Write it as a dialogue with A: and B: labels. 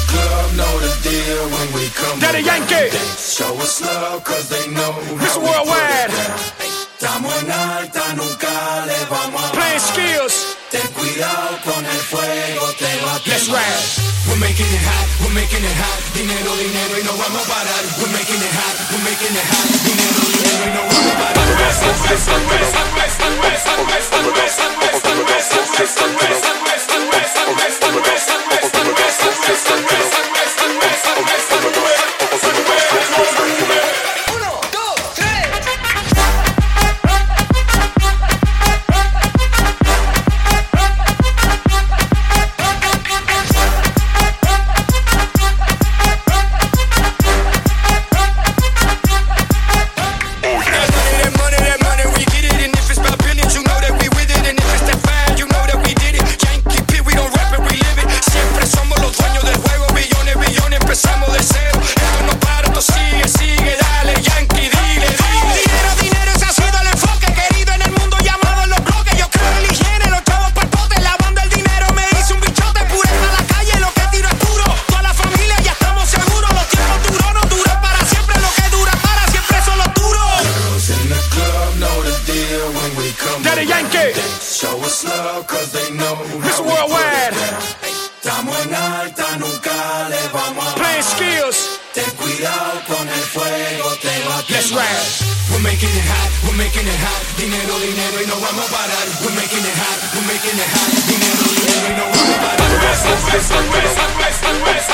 A: club know the deal when we come.
B: Daddy Yankee.
A: Show us love cause they know.
B: Mr. Worldwide.
A: Estamos en alta, nunca le vamos a
B: Playing skills.
A: Ten cuidado con el fuego, te va a
B: Let's
A: quemar.
B: ride.
A: We're making it hot, we're making it hot. Dinero, dinero y no vamos a parar. We're making it hot, we're making it hot. Dinero, dinero y no vamos a parar.
B: Daddy Yankee.
A: Show us love cause they know.
B: Mr. Worldwide.
A: Estamos en alta, nunca le vamos a
B: Playing skills.
A: Ten cuidado con el fuego, te va a
B: Let's
A: quemar.
B: ride.
A: We're making it hot, we're making it hot. Dinero, dinero y no vamos a parar. We're making it hot, we're making it hot. Dinero, dinero y no vamos a parar.